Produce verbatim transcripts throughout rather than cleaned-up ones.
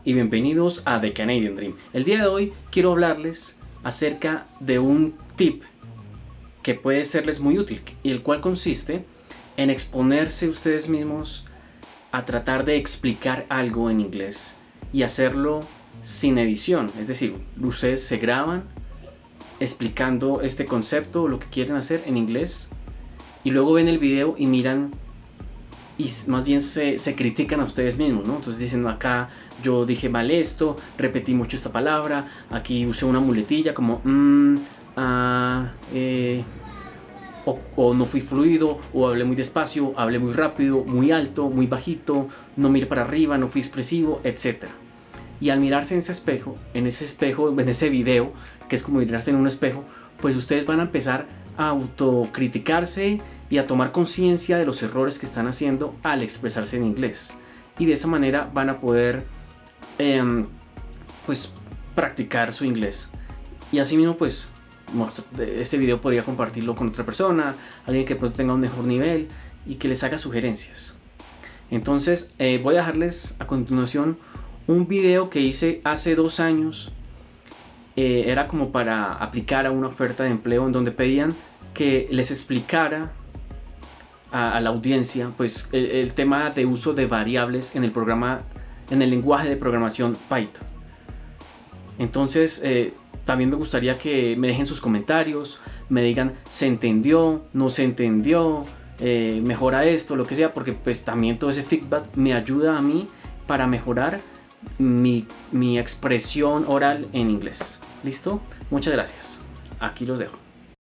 y bienvenidos a The Canadian Dream. El día de hoy quiero hablarles acerca de un tip que puede serles muy útil y el cual consiste en exponerse ustedes mismos a tratar de explicar algo en inglés y hacerlo sin edición. Es decir, ustedes se graban explicando este concepto o lo que quieren hacer en inglés y luego ven el video y miran y más bien se, se critican a ustedes mismos, ¿no? Entonces dicen, acá yo dije mal esto, repetí mucho esta palabra, aquí usé una muletilla como mmm, ah, eh, o, o no fui fluido, o hablé muy despacio, hablé muy rápido, muy alto, muy bajito, no miré para arriba, no fui expresivo, etcétera. Y al mirarse en ese espejo, en ese espejo, en ese video, que es como mirarse en un espejo, pues ustedes van a empezar a autocriticarse y a tomar conciencia de los errores que están haciendo al expresarse en inglés. Y de esa manera van a poder eh, pues practicar su inglés. Y así mismo pues este video podría compartirlo con otra persona, alguien que pronto tenga un mejor nivel y que les haga sugerencias. Entonces eh, voy a dejarles a continuación un video que hice hace dos años. Eh, era como para aplicar a una oferta de empleo en donde pedían que les explicara a, a la audiencia pues el, el tema de uso de variables en el programa, en el lenguaje de programación Python. Entonces eh, también me gustaría que me dejen sus comentarios, me digan se entendió, no se entendió, eh, mejora esto, lo que sea, porque pues también todo ese feedback me ayuda a mí para mejorar mi, mi expresión oral en inglés. ¿Listo? Muchas gracias. Aquí los dejo.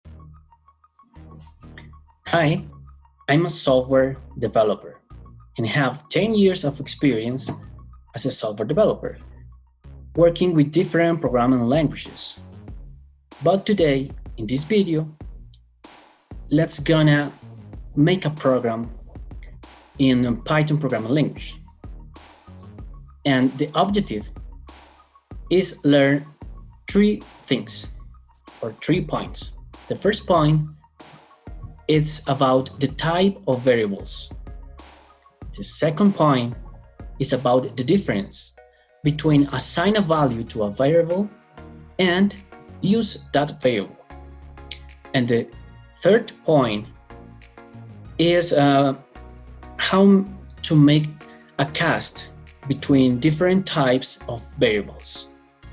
Hi, I'm a software developer and have ten years of experience as a software developer, working with different programming languages. But today, in this video, let's gonna make a program in Python programming language. And the objective is learn three things or three points. The first point is about the type of variables. The second point is about the difference between assign a value to a variable and use that variable. And the third point is uh, how to make a cast between different types of variables.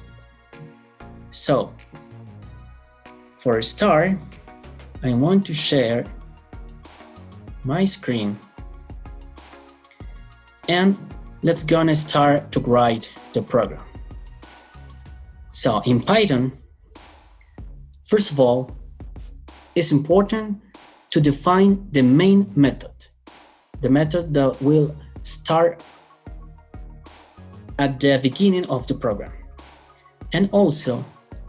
So, for a start, I want to share my screen and let's gonna start to write the program. So in Python, first of all, it's important to define the main method, the method that will start at the beginning of the program. And also,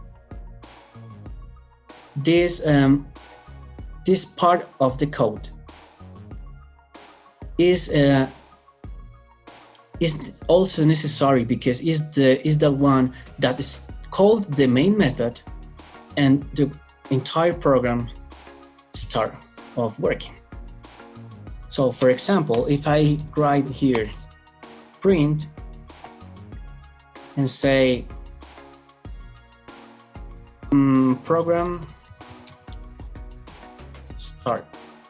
this, um, this part of the code is, uh, is also necessary because it's the, is the one that is called the main method and the entire program start of working. So for example, if I write here print and say um, program start.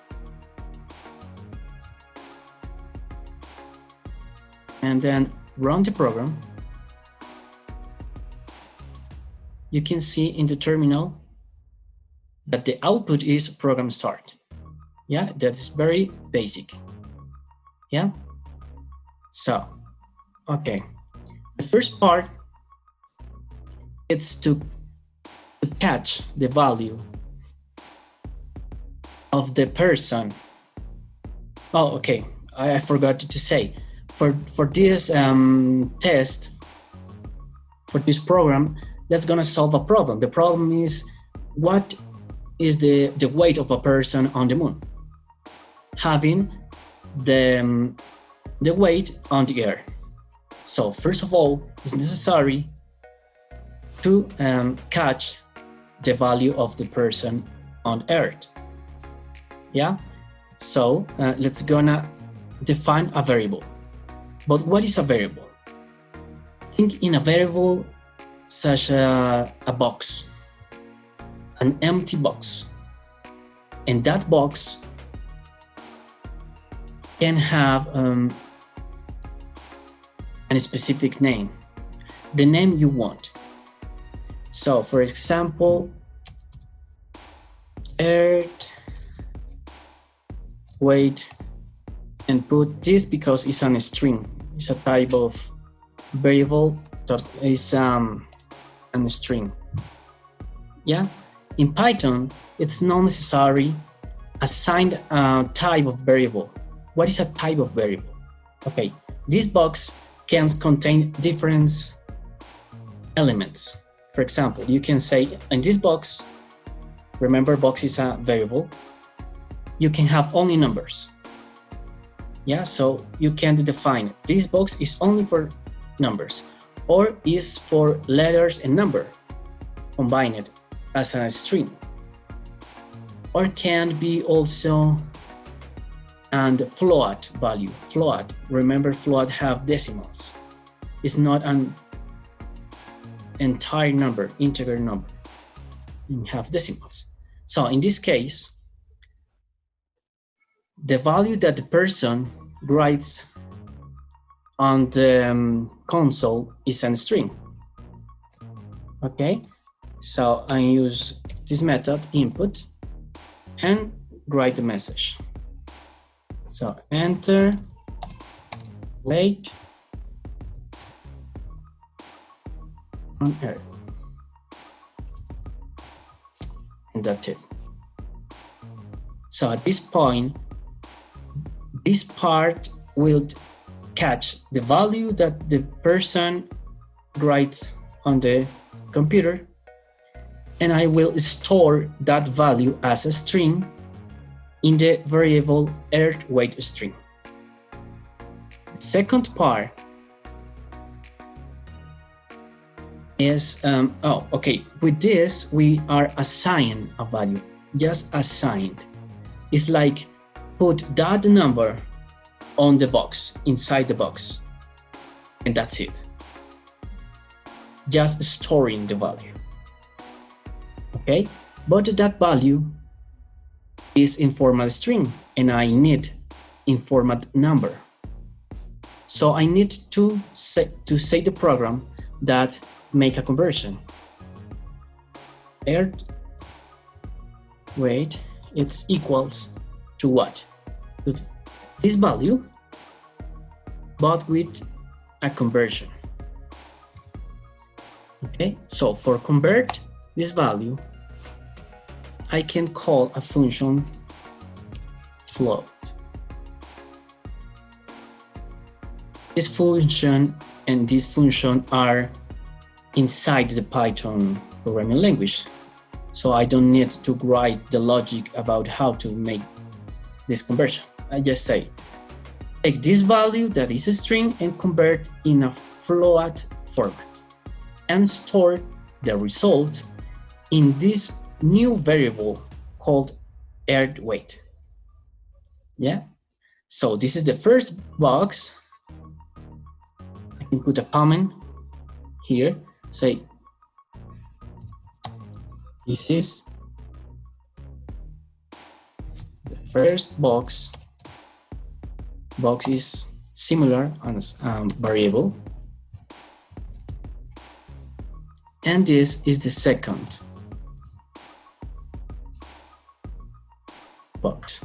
And then run the program. You can see in the terminal that the output is program start. Yeah, that's very basic. Yeah. So, okay. The first part is to, to catch the value of the person. Oh, okay. I, I forgot to say for for this um, test, for this program, let's gonna solve a problem. The problem is what is the the weight of a person on the moon, having the um, the weight on the air. So first of all, it's necessary to um, catch the value of the person on Earth. Yeah, so uh, let's gonna define a variable. But what is a variable? think in a variable such a, a box, an empty box. And that box can have um, a specific name, the name you want. So for example, earth weight, and put this because it's a string. It's a type of variable that is um, a string. Yeah. In Python, it's not necessary assign a type of variable. What is a type of variable? Okay, this box can contain different elements. For example, you can say in this box, remember box is a variable, you can have only numbers. Yeah, so you can define this box is only for numbers or is for letters and number combined as a string, or can be also and float value. Float, remember float have decimals. It's not an entire number, integer number. You have decimals. So in this case, the value that the person writes on the um, console is a string. Okay, so I use this method input and write the message. So enter weight on earth, and that's it. So at this point, this part will catch the value that the person writes on the computer, and I will store that value as a string in the variable earth weight string. The second part is, um, oh, okay, with this, we are assigning a value, just assigned. It's like put that number on the box, inside the box, and that's it. Just storing the value. Okay, but that value is in format string and I need in format number. So I need to say, to say the program that make a conversion. Earth weight, it's equals to what? To this value, but with a conversion. Okay, so for convert this value, I can call a function float. This function and this function are inside the Python programming language. So I don't need to write the logic about how to make this conversion. I just say, take this value that is a string and convert in a float format and store the result in this new variable called earth weight. Yeah, so this is the first box. I can put a comment here, say this is the first box. Box is similar as um, variable, and this is the second box,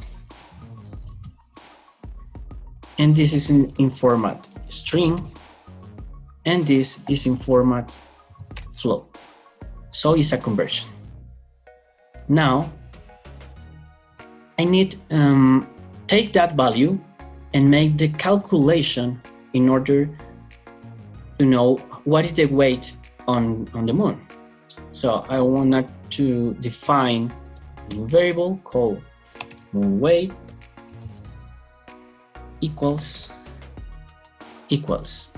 and this is in, in format string, and this is in format float, so it's a conversion. Now I need um, take that value and make the calculation in order to know what is the weight on, on the moon. So I want to define a new variable called moon weight equals equals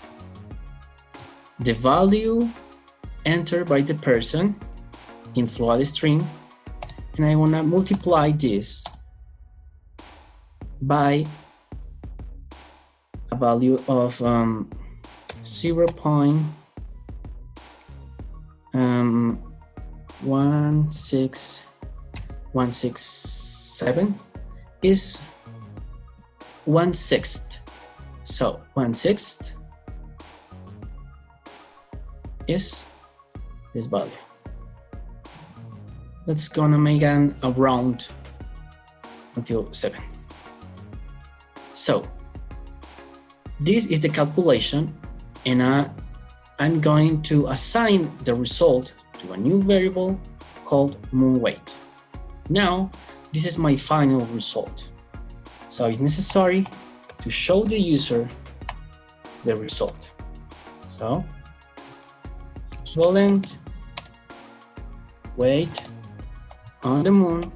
the value entered by the person in float string, and I want to multiply this by a value of um, zero point um, one six one six seven is one sixth. So one sixth is this value. Let's gonna make an a round until seven. So this is the calculation, and I, I'm going to assign the result to a new variable called moon weight. Now, this is my final result. So it's necessary to show the user the result. So, equivalent weight on the moon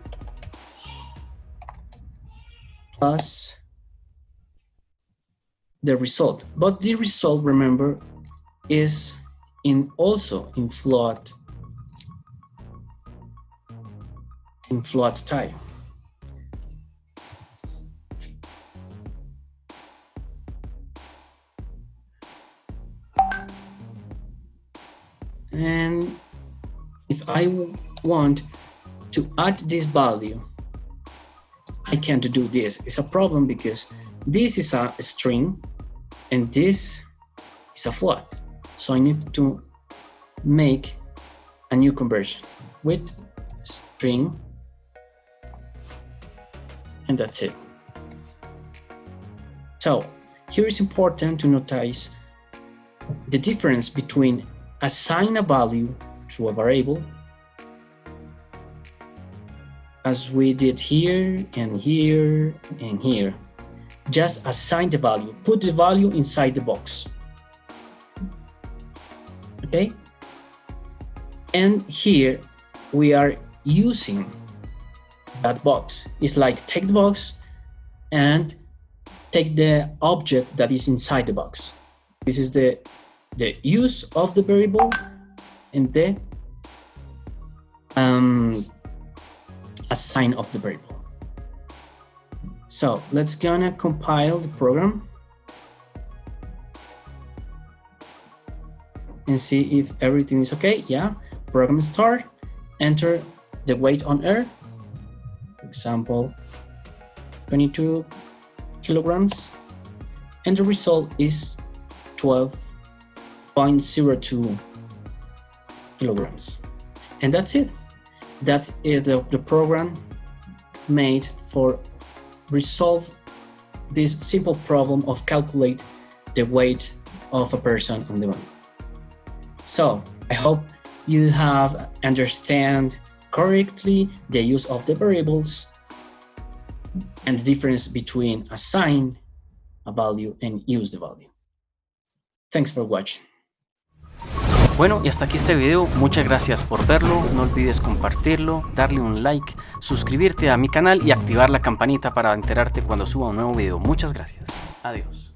plus the result. But the result, remember, is in also in float in float type. And if I want to add this value, I can't do this. It's a problem because this is a string and this is a float. So I need to make a new conversion with string, and that's it. So here it's important to notice the difference between assign a value to a variable, as we did here and here and here. Just assign the value, put the value inside the box. Okay? And here we are using that box. It's like take the box and take the object that is inside the box. This is the, the use of the variable and the um, assign of the variable. So let's gonna compile the program and see if everything is okay. Yeah, program start, enter the weight on air, for example, twenty-two kilograms, and the result is twelve point zero two kilograms. And that's it. That is the, the program made for resolve this simple problem of calculate the weight of a person on the moon. So I hope you have understand correctly the use of the variables and the difference between assign a value and use the value. Thanks for watching. Bueno, y hasta aquí este video. Muchas gracias por verlo. No olvides compartirlo, darle un like, suscribirte a mi canal y activar la campanita para enterarte cuando suba un nuevo video. Muchas gracias. Adiós.